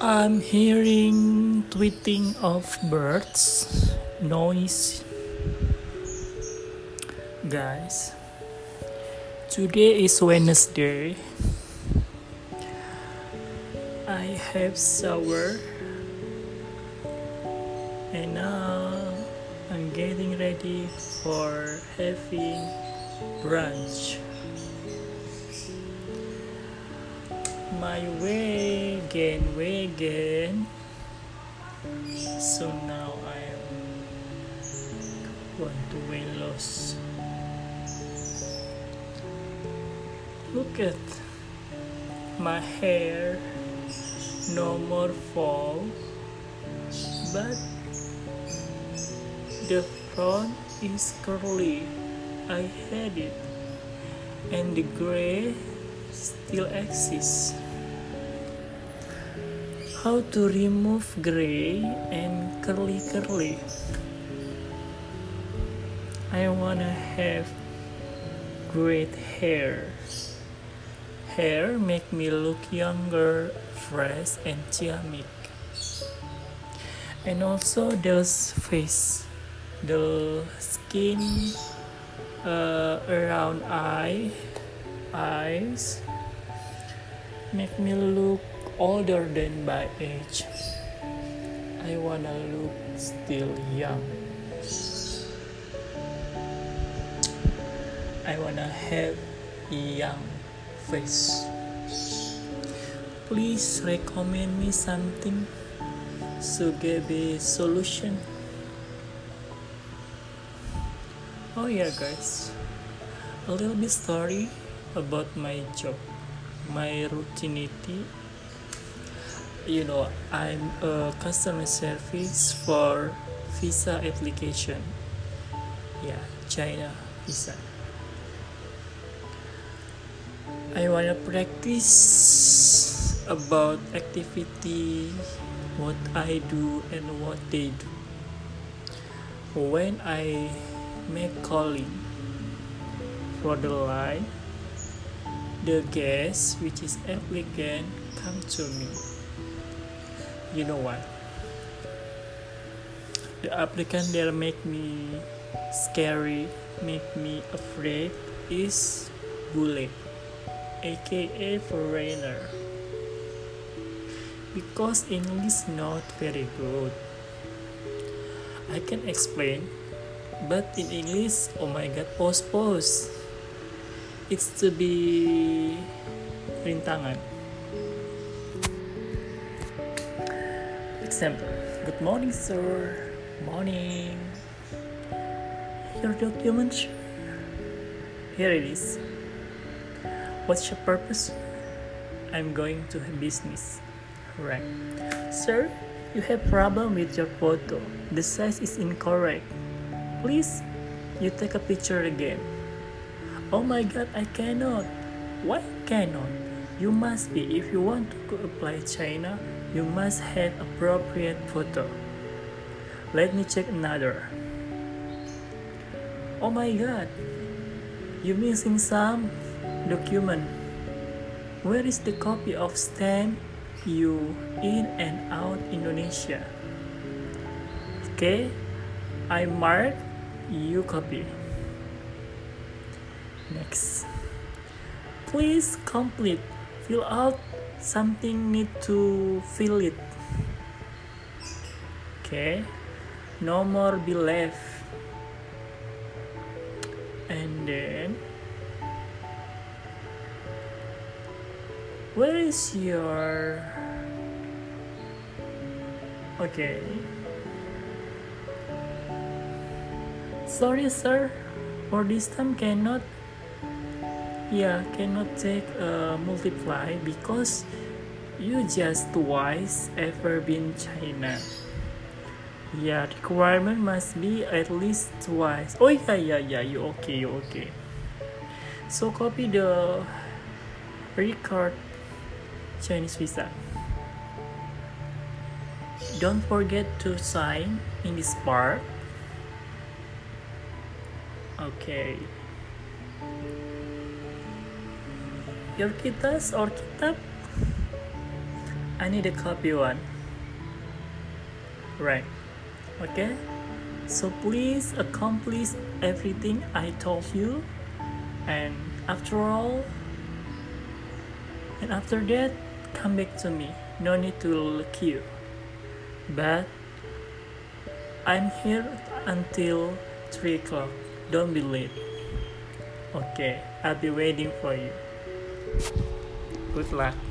I'm hearing tweeting of birds, noise. Guys, today is Wednesday. I have shower and now I'm getting ready for having brunch. My vegan. So now I want to weight loss. Look at my hair, no more fall, but the front is curly. I had it, and the gray still exists. How to remove gray and curly? I wanna have great hair. Hair make me look younger, fresh, and ciamik. And also those face, the skin around eyes make me look older than my age. I wanna look still young. I wanna have young face. Please recommend me something so give a solution. Oh yeah guys, a little bit story about my job, my routinity. I'm a customer service for visa application. Yeah, China visa. I wanna practice about activity, what I do and what they do. When I make calling for the line, the guest, which is applicant, come to me. You know what? The applicant that make me scary, make me afraid is bule, aka foreigner. Because English not very good. I can explain, but in English, oh my god, pause. It's to be rintangan. Example, good morning sir, morning. Your document, sir? Here it is. What's your purpose? I'm going to have business. Right. Sir, you have problem with your photo. The size is incorrect. Please, you take a picture again. Oh my god, I cannot. Why cannot? You must be. If you want to apply China, you must have appropriate photo. Let me check another. Oh my god, you missing some document. Where is the copy of stamp you in and out Indonesia? Okay, I mark, you copy. Next, please complete, fill out something, need to fill it. Okay, no more be left. And then where is your okay, sorry sir, for this time cannot take multiply because you just twice ever been China. Yeah, requirement must be at least twice. Oh yeah, you okay. So copy the record Chinese visa. Don't forget to sign in this part. Okay. Your kitas or kitab I need a copy one. Right. Okay? So please accomplish everything I told you. And after that, come back to me. No need to queue. But I'm here until 3 o'clock. Don't be late. Okay, I'll be waiting for you. Good luck.